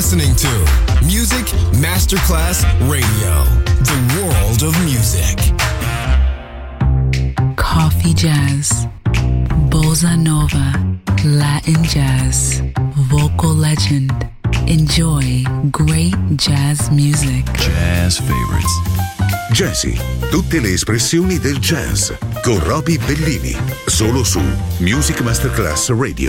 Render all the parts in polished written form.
listening to Music Masterclass Radio, the world of music. Coffee jazz, bossa nova, Latin jazz, vocal legend. Enjoy great jazz music. Jazz favorites. Jazzy, tutte le espressioni del jazz con Roby Bellini, solo su Music Masterclass Radio.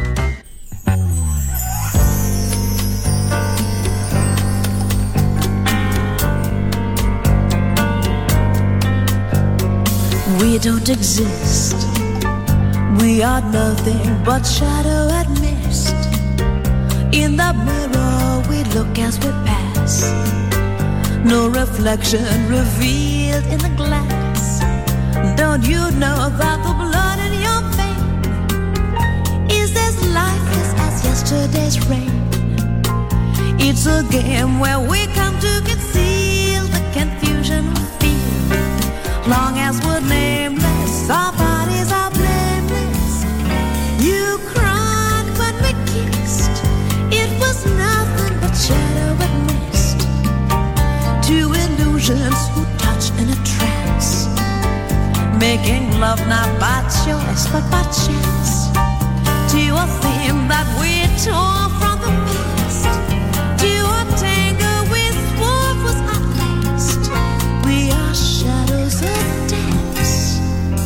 We don't exist. We are nothing but shadow and mist. In the mirror we look as we pass. No reflection revealed in the glass. Don't you know that the blood in your vein is as lifeless as yesterday's rain? It's a game where we come to conceal the confusion we feel. Long as we're nameless, our bodies are blameless. You cried when we kissed. It was nothing but shadow and mist. Two illusions who touch in a trance, making love not by choice but by chance. To a theme that we tore from the past, to a tango we swore was our last. We are shadows of dance.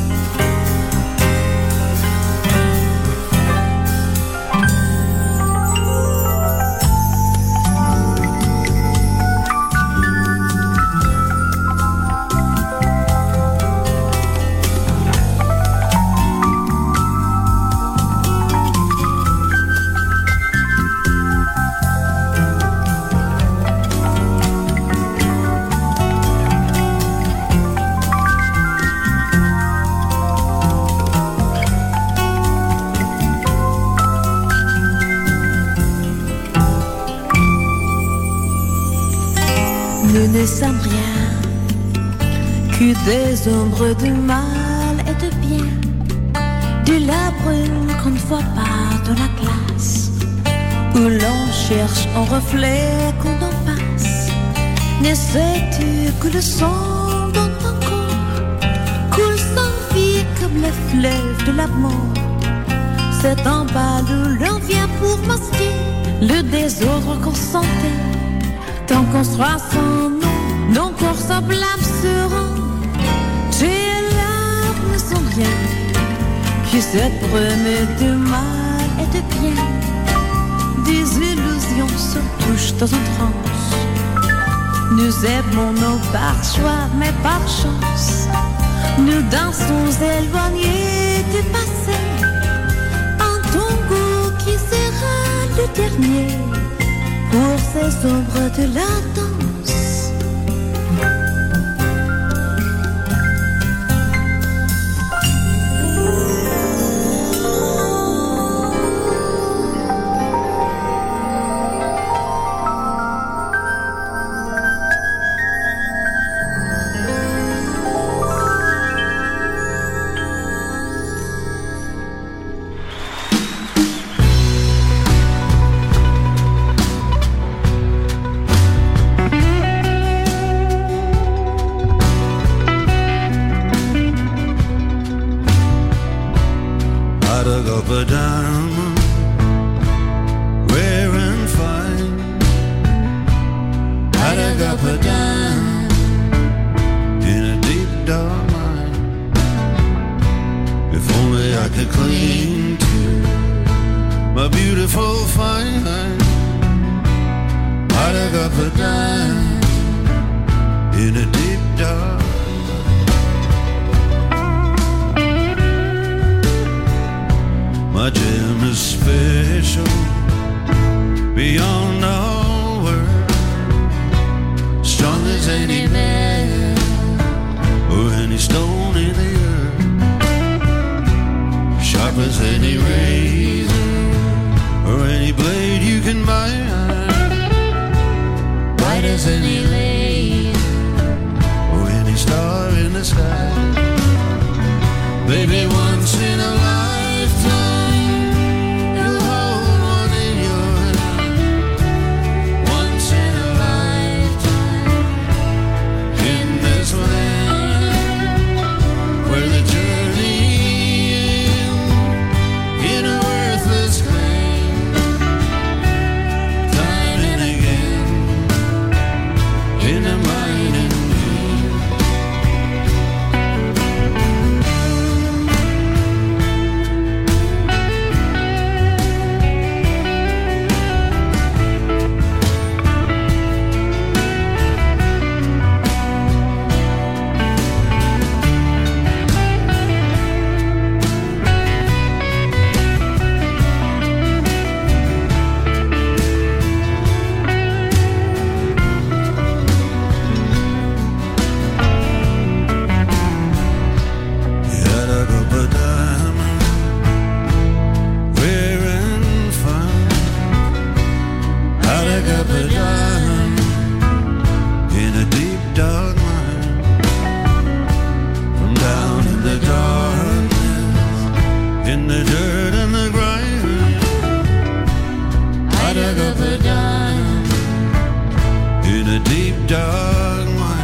Nous ne sommes rien que des ombres de mal et de bien, de la brume qu'on ne voit pas dans la glace, où l'on cherche un reflet qu'on en passe. Ne sais-tu que le sang dans ton corps coule sans vie comme le fleuve de l'amour? C'est en bas où l'on vient pour masquer le désordre qu'on sentait. Tant qu'on sera sans nom, nos corps semblables seront. Tes larmes ne sont rien que cette brume de mal et de bien. Des illusions se touchent dans une transe. Nous aimons nos par choix, mais par chance. Nous dansons éloignés du passé. Un tango qui sera le dernier pour ces ombres de la danse. Baby, once in a lifetime, you'll hold one in your hand. deep dark night.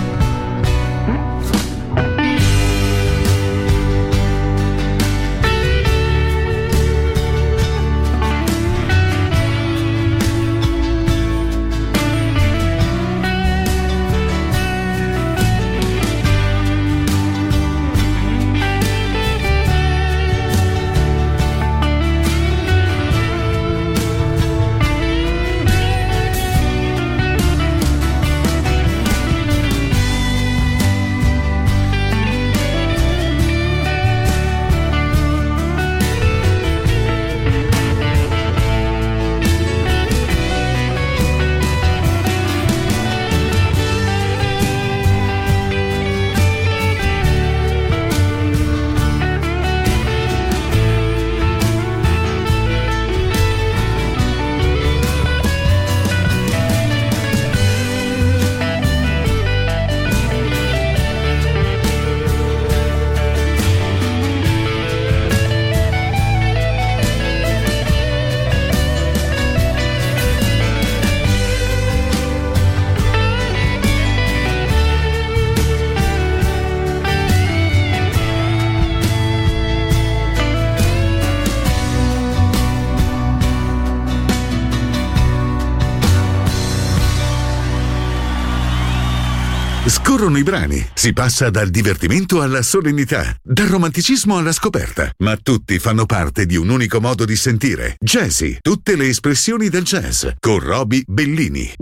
Scorrono i brani, si passa dal divertimento alla solennità, dal romanticismo alla scoperta, ma tutti fanno parte di un unico modo di sentire. Jazzy, tutte le espressioni del jazz, con Roby Bellini.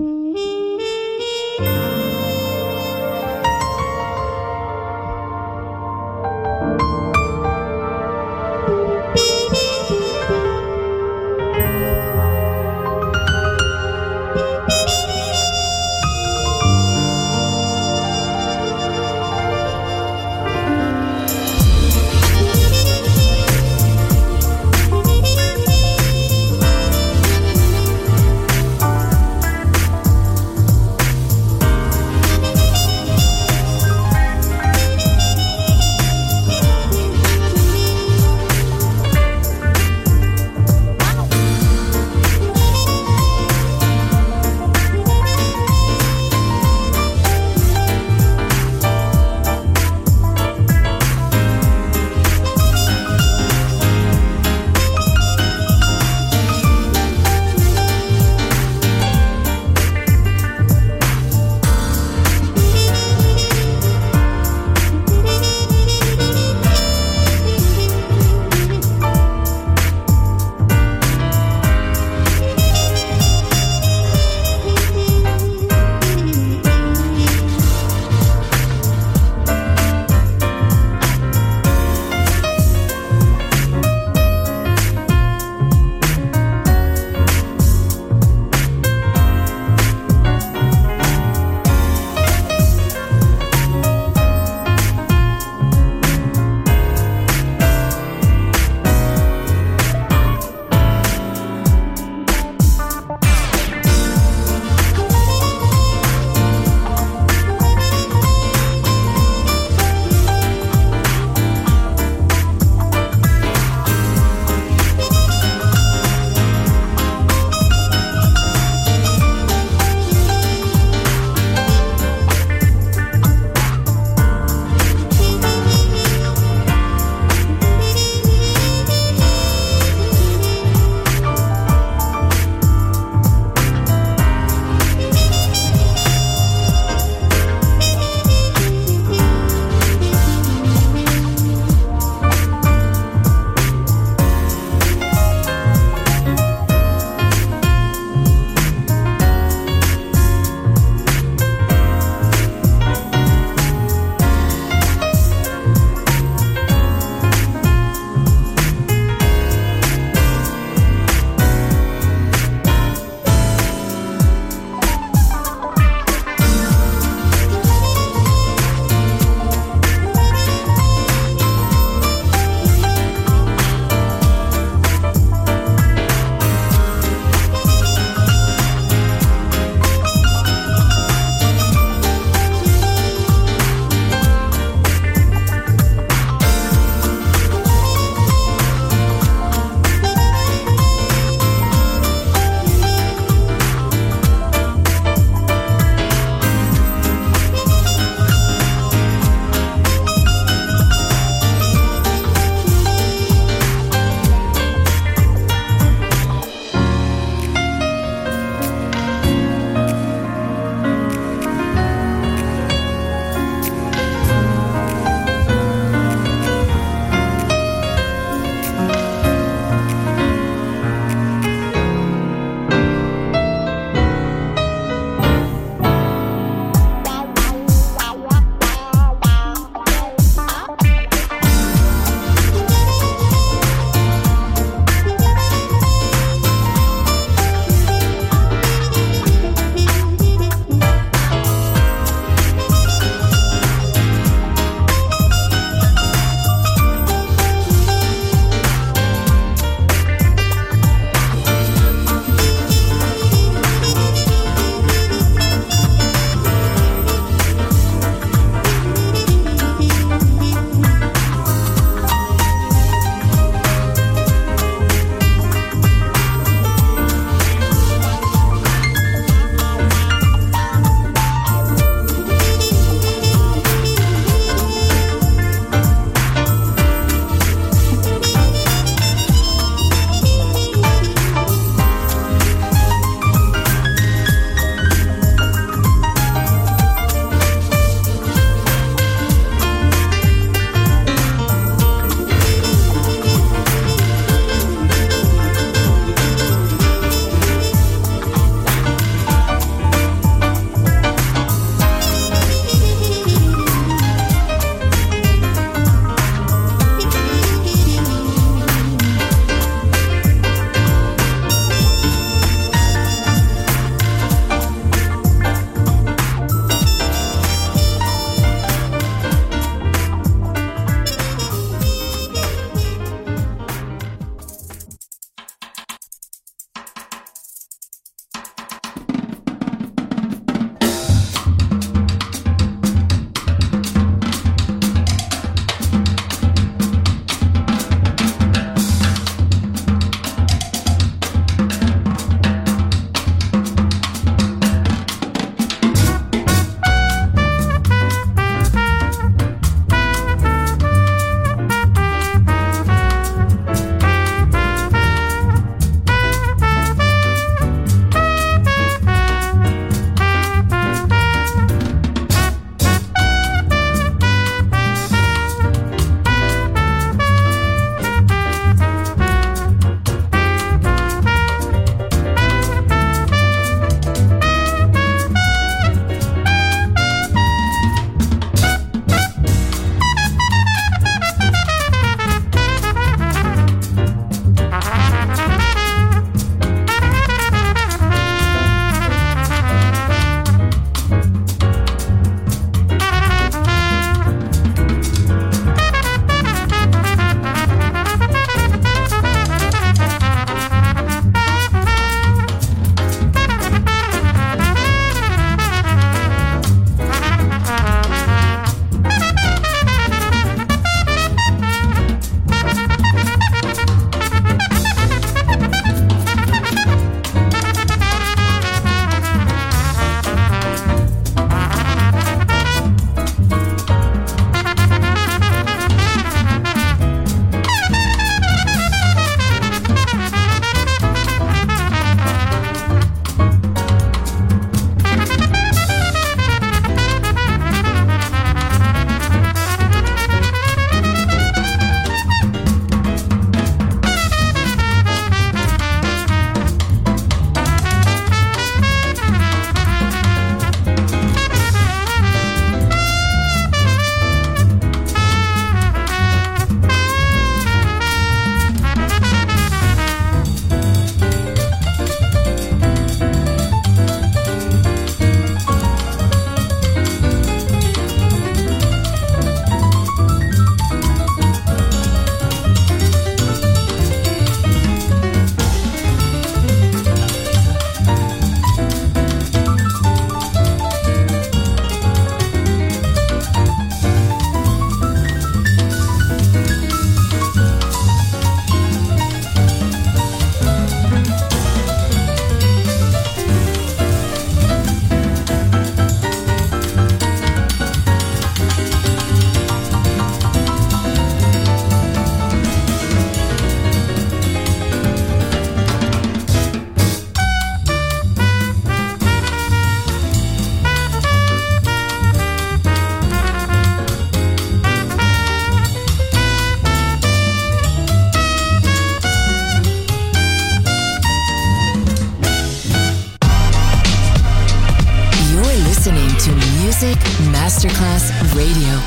Music Masterclass Radio.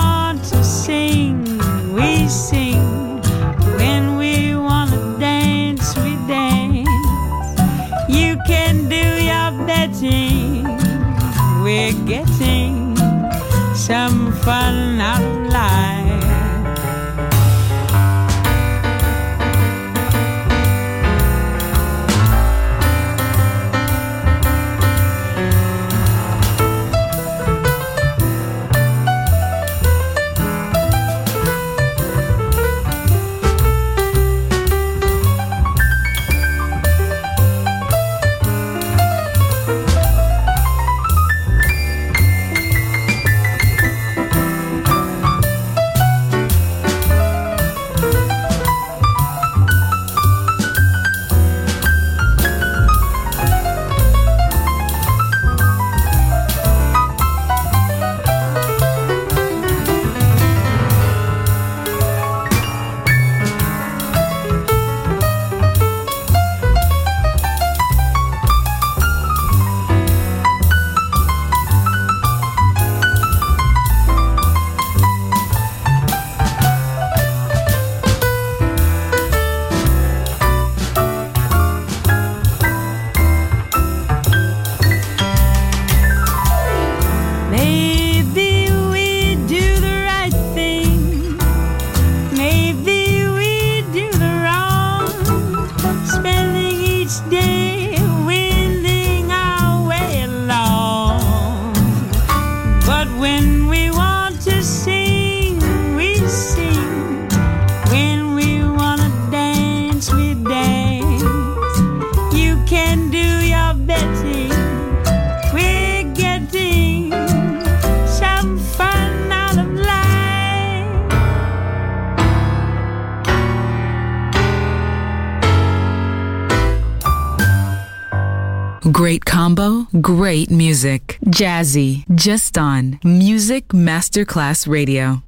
Sing, when we wanna dance. Great combo, great music. Jazzy, just on Music Masterclass Radio.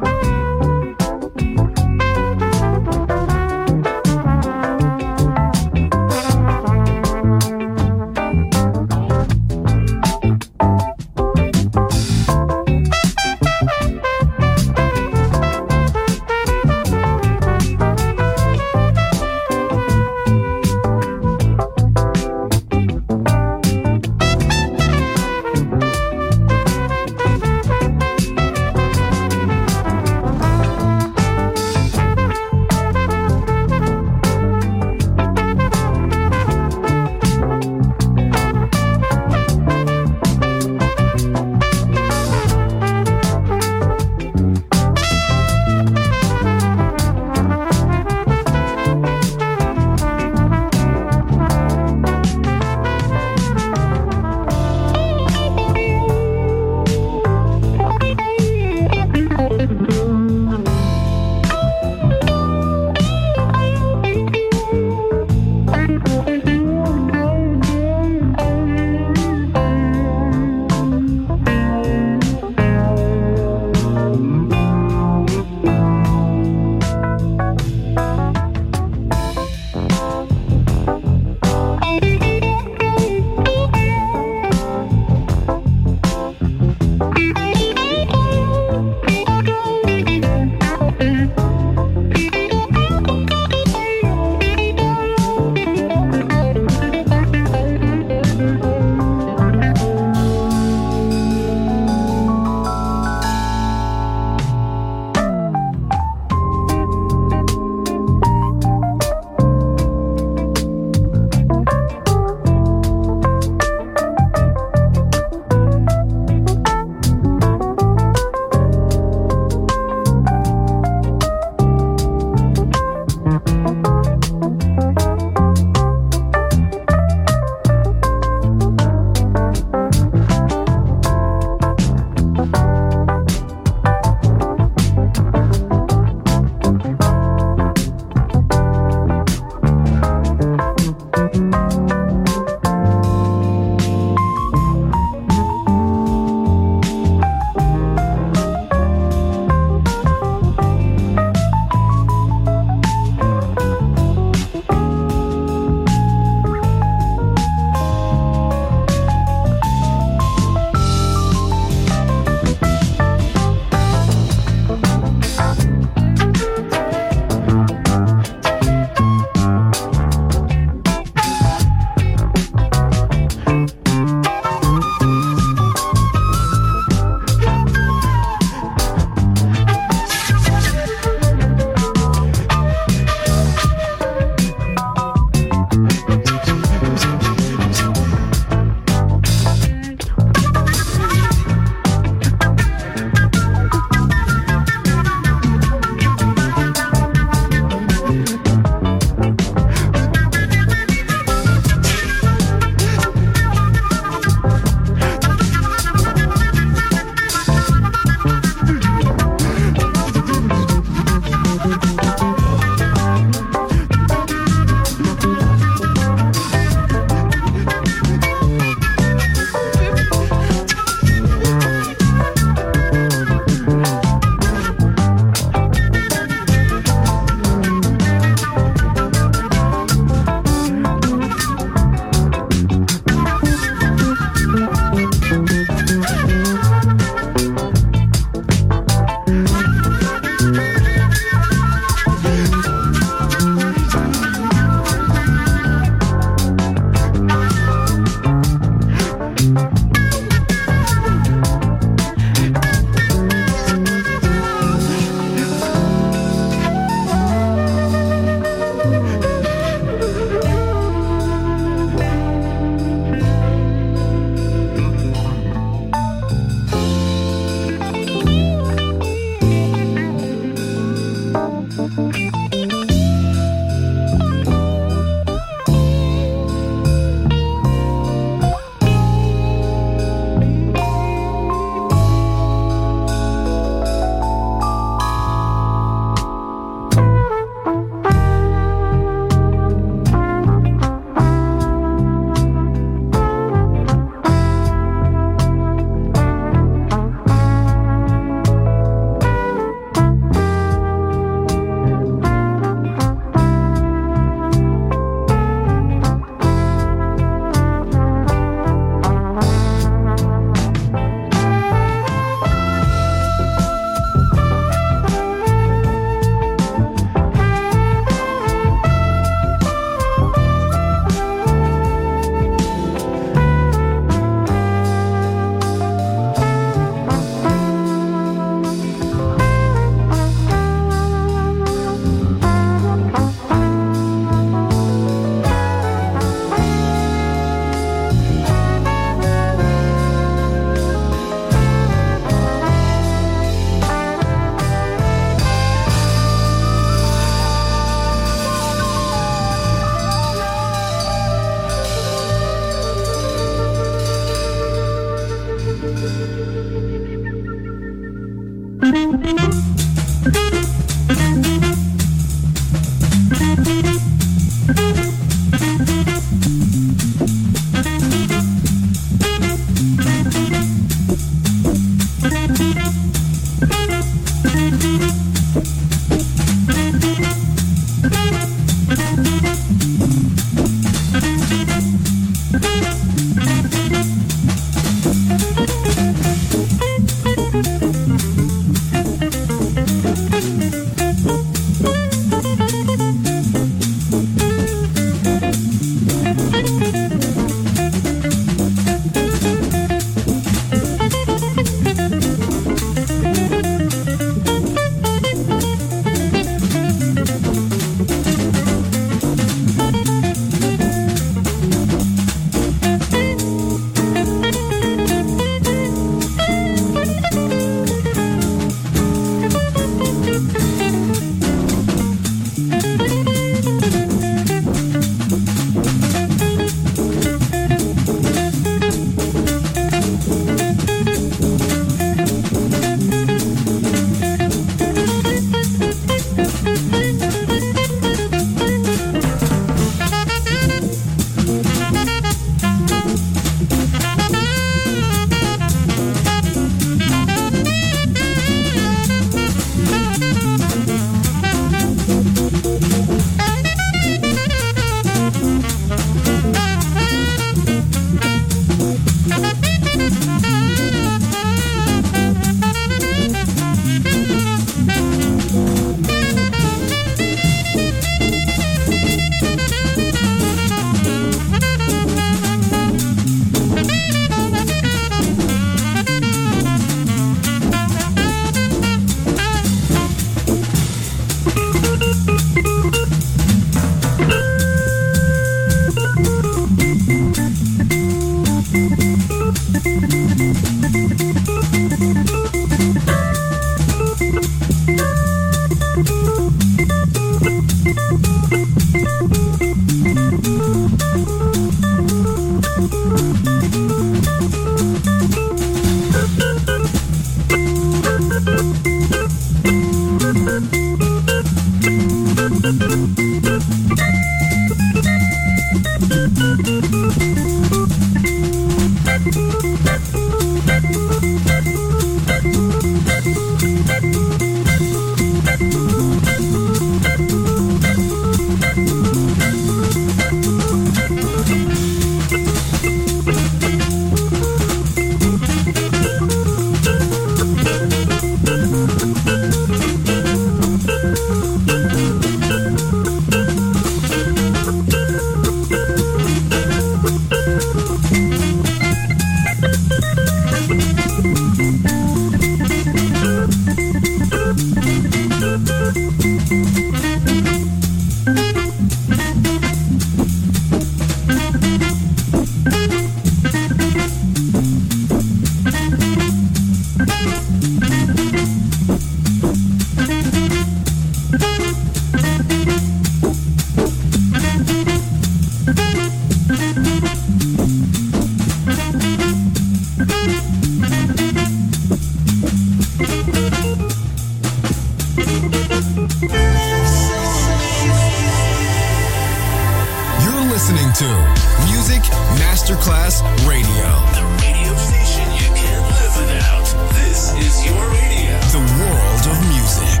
listening to Music Masterclass Radio. The radio station you can't live without. This is your radio. The world of music.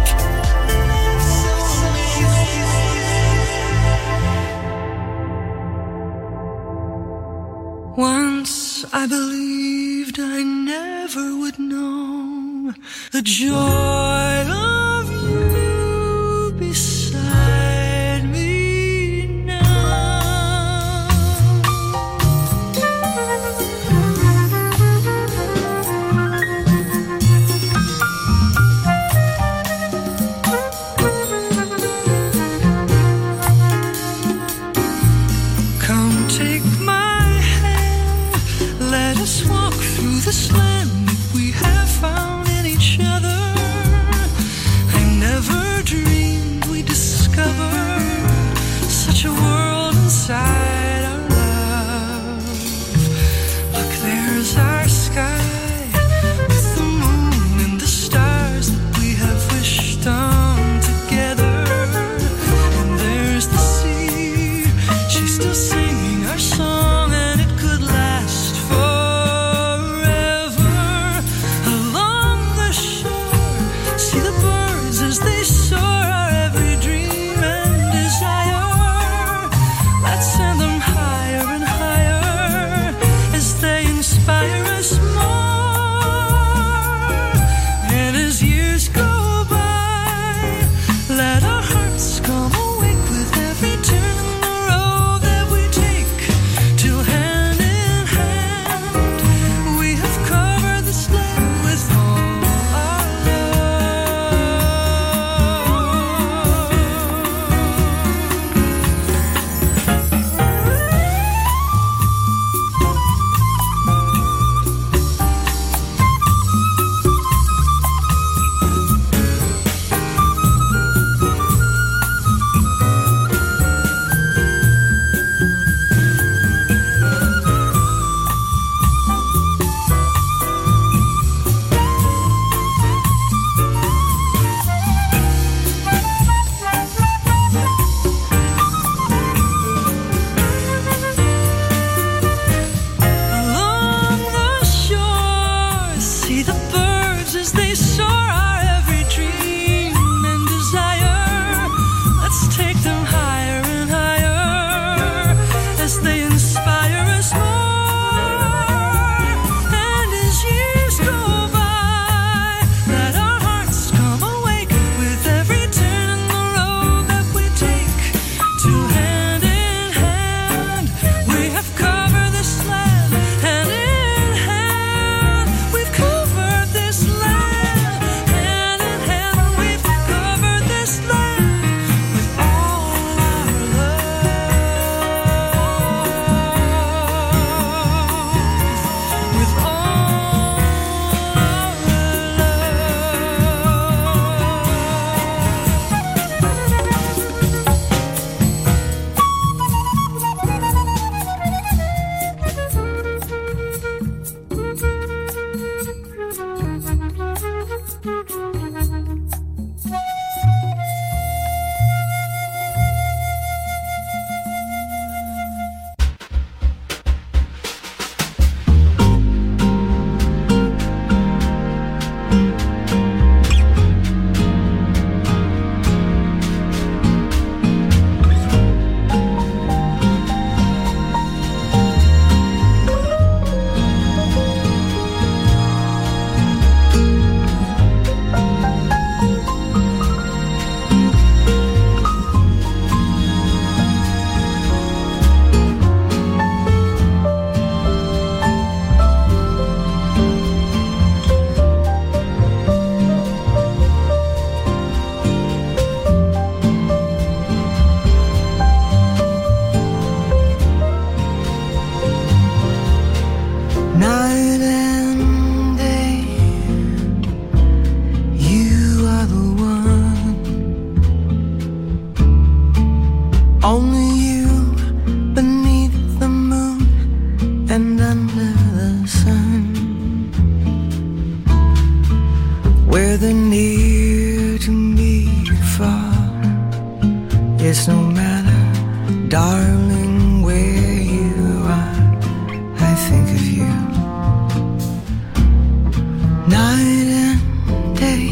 Once I believed I never would know the joy of you beside me now. Come take my hand, let us walk through this land we have found in each other. whether near to me or far. It's no matter, darling, where you are, I think of you night and day,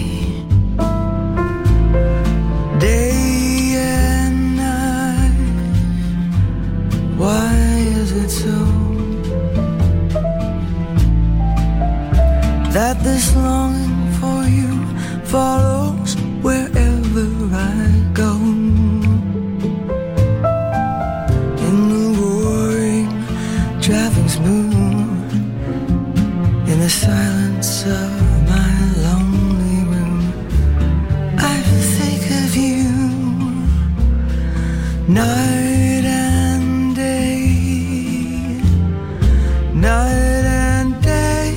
day and night. Why is it so that this longing for you follows wherever I go? In the roaring traffic smooth, in the silence of my lonely room, I think of you night and day, night and day.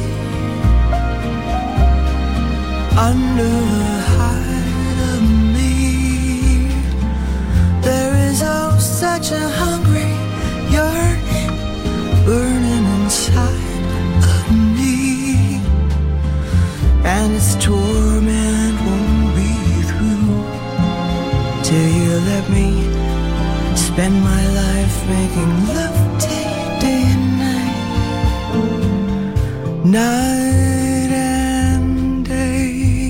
Under the hide of me, there is oh such a hungry yearning burning inside of me, and its torment won't be through till you let me spend my life making love to you day and night, night and day.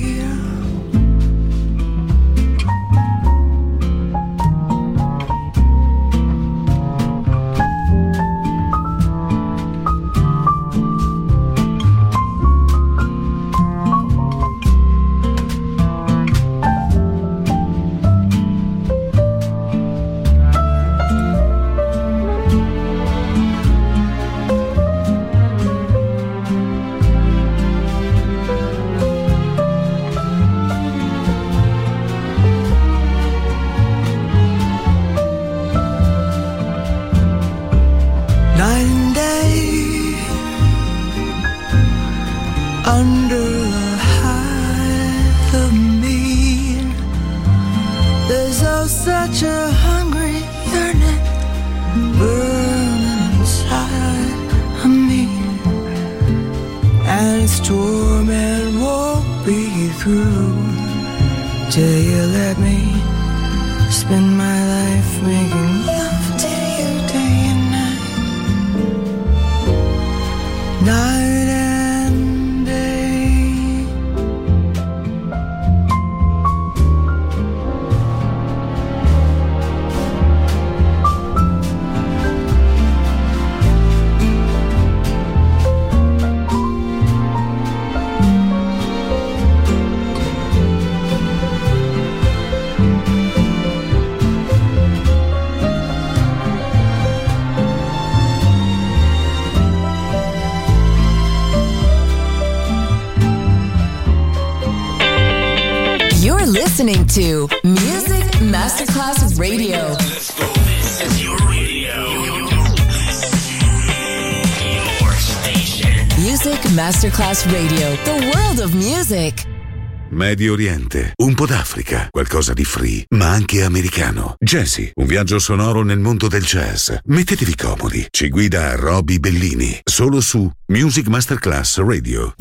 Night and day, under the hide of me, there's oh such a hungry yearning burning inside of me, and its torment won't be through till you let me spend my life making love to you day and night, night and day. You're listening to Music Masterclass Radio. Let's go. This is your radio. Your station. Music Masterclass Radio. The world of music. Medio Oriente, un po' d'Africa, qualcosa di free, ma anche americano. Jazzy, un viaggio sonoro nel mondo del jazz. Mettetevi comodi, ci guida Roby Bellini, solo su Music Masterclass Radio.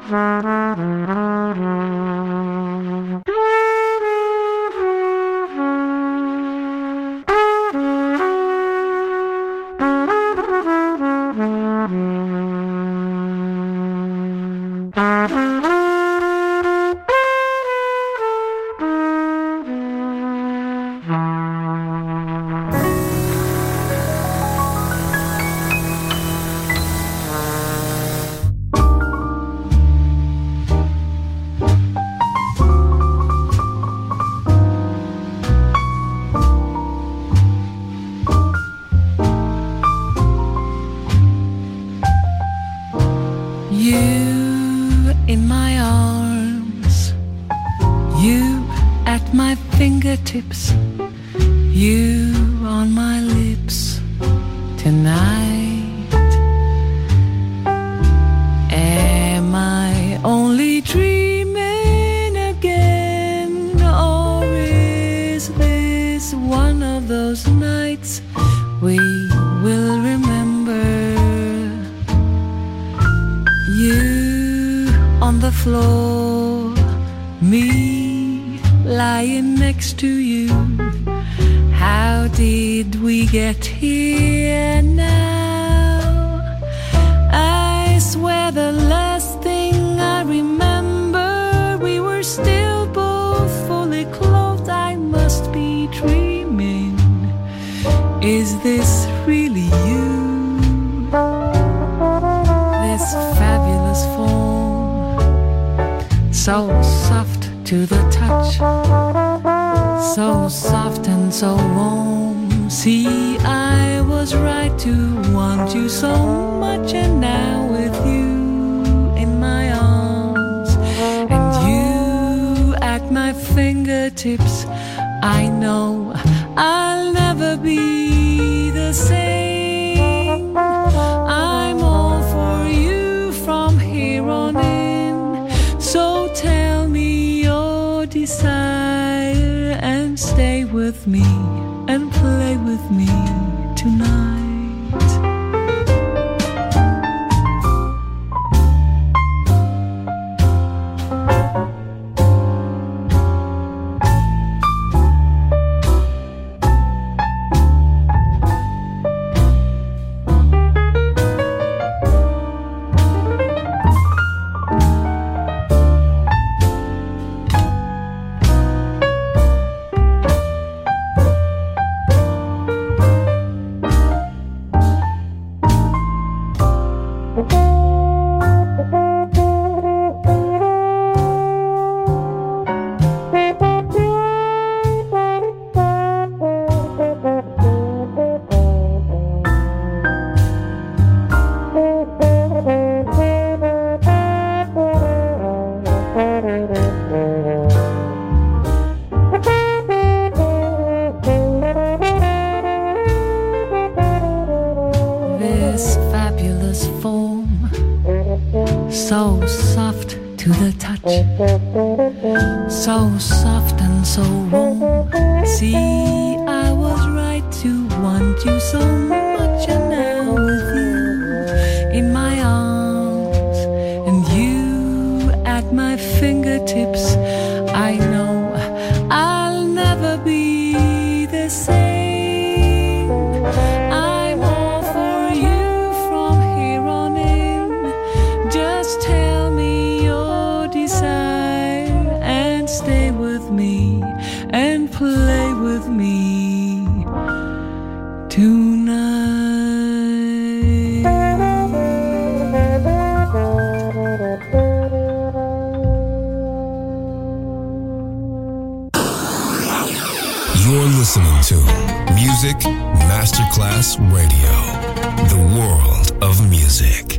fingertips, you on my lips tonight. Am I only dreaming again, or is this one of those nights we will remember? You on the floor, me lying next to you. How did we get here now? I swear the last thing I remember, we were still both fully clothed. I must be dreaming. Is this really you? This fabulous form, so soft to the touch, so soft and so warm. See, I was right to want you so much, and now with you in my arms and you at my fingertips, I know I'll never be the same. I'm all for you from here on in, so tell me your desire and stay with me and play with me tonight. Masterclass Radio, the world of music.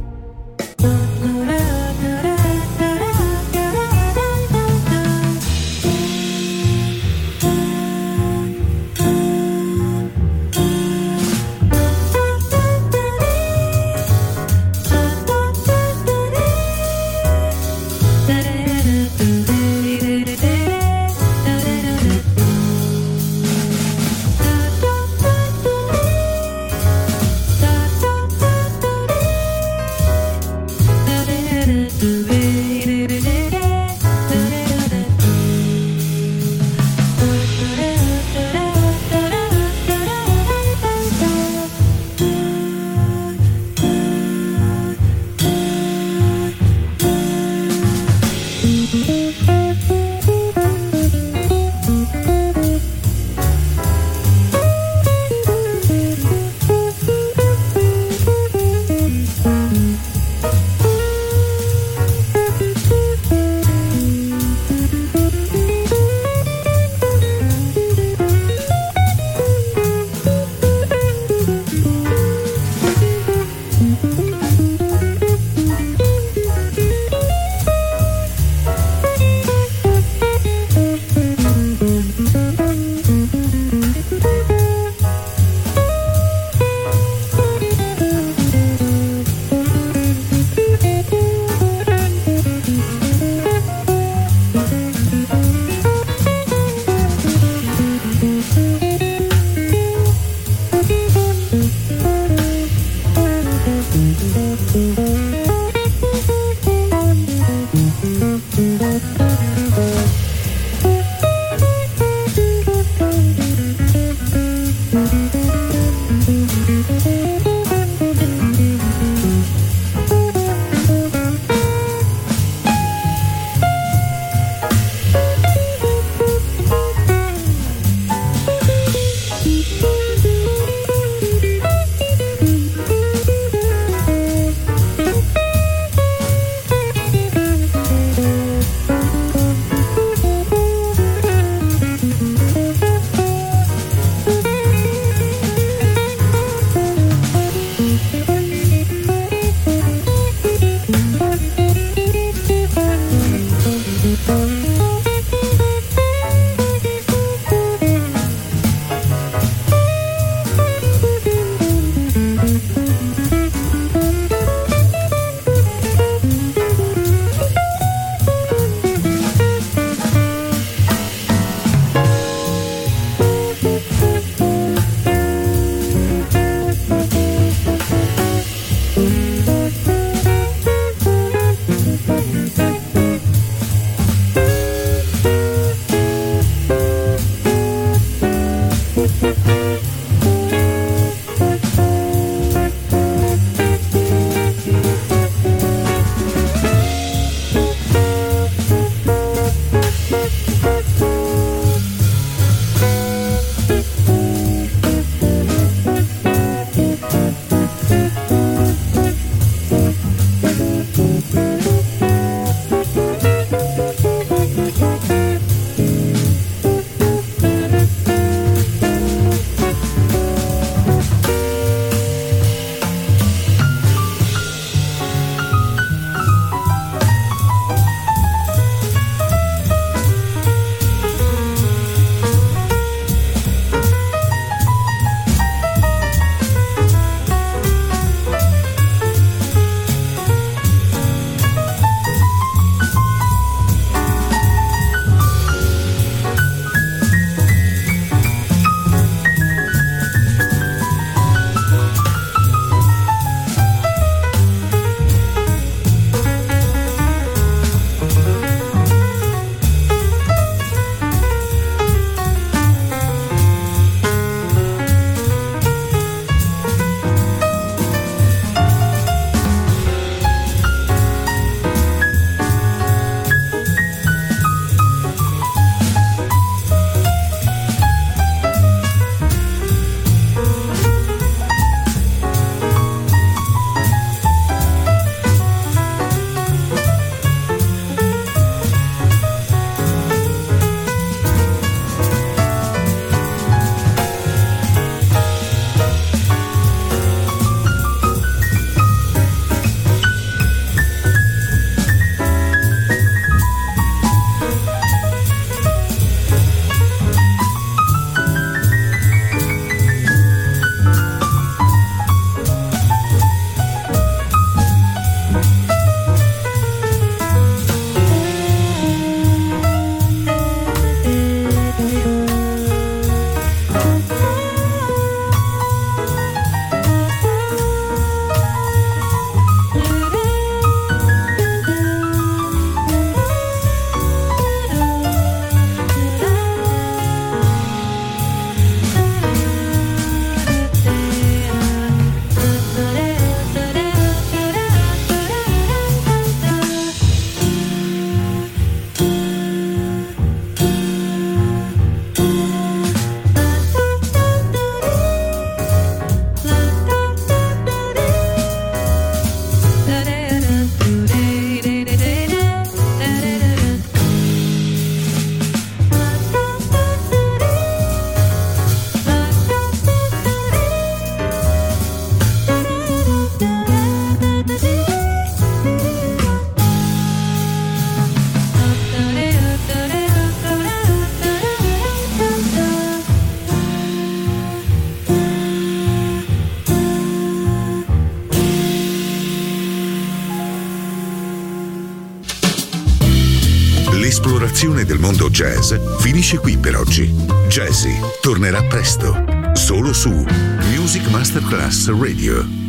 L'esplorazione del mondo jazz finisce qui per oggi. Jazzy tornerà presto, solo su Music Masterclass Radio.